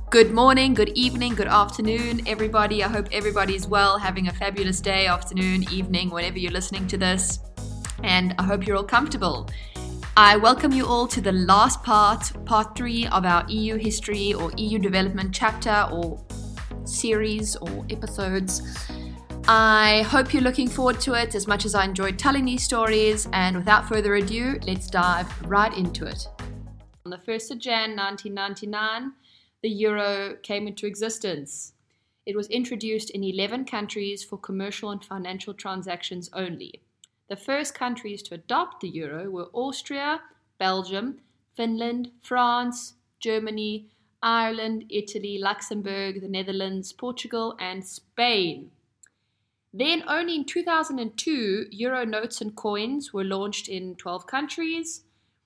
Good morning, good evening, good afternoon, everybody. I hope everybody's well, having a fabulous day, afternoon, evening, whenever you're listening to this. And I hope you're all comfortable. I welcome you all to the last part 3 of our EU history or EU development chapter or series or episodes. I hope you're looking forward to it as much as I enjoyed telling these stories. And without further ado, let's dive right into it. On the 1st of Jan 1999, the euro came into existence. It was introduced in 11 countries for commercial and financial transactions only. The first countries to adopt the euro were Austria, Belgium, Finland, France, Germany, Ireland, Italy, Luxembourg, the Netherlands, Portugal, and Spain. Then only in 2002, euro notes and coins were launched in 12 countries.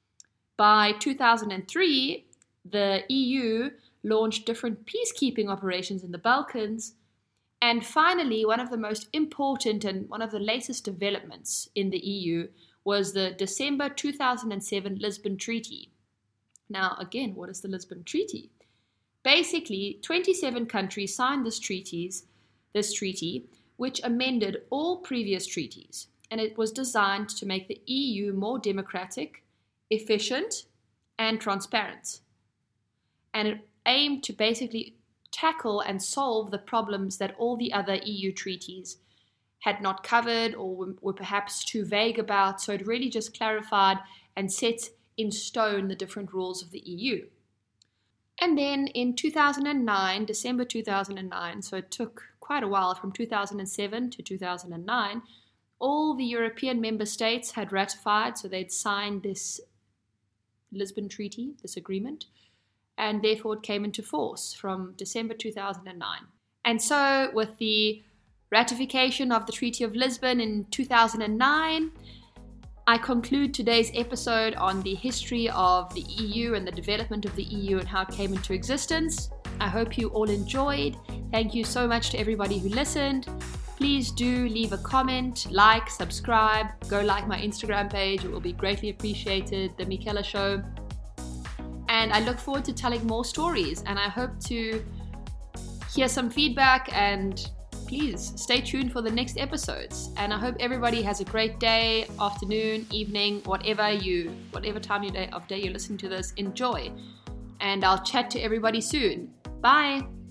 By 2003, the EU launched different peacekeeping operations in the Balkans. And finally, one of the most important and one of the latest developments in the EU was the December 2007 Lisbon Treaty. Now, again, what is the Lisbon Treaty? Basically, 27 countries signed this treaty, which amended all previous treaties. And it was designed to make the EU more democratic, efficient, and transparent. And it aimed to basically tackle and solve the problems that all the other EU treaties had not covered or were perhaps too vague about. So it really just clarified and set in stone the different rules of the EU. And then in 2009, December 2009, so it took quite a while from 2007 to 2009, all the European member states had ratified, so they'd signed this Lisbon Treaty, this agreement, and therefore it came into force from December 2009. And so with the ratification of the Treaty of Lisbon in 2009, I conclude today's episode on the history of the EU and the development of the EU and how it came into existence. I hope you all enjoyed. Thank you so much to everybody who listened. Please do leave a comment, like, subscribe, go like my Instagram page. It will be greatly appreciated, The Michela Show. And I look forward to telling more stories, and I hope to hear some feedback, and please stay tuned for the next episodes. And I hope everybody has a great day, afternoon, evening, whatever time of day you're listening to this, enjoy. And I'll chat to everybody soon. Bye.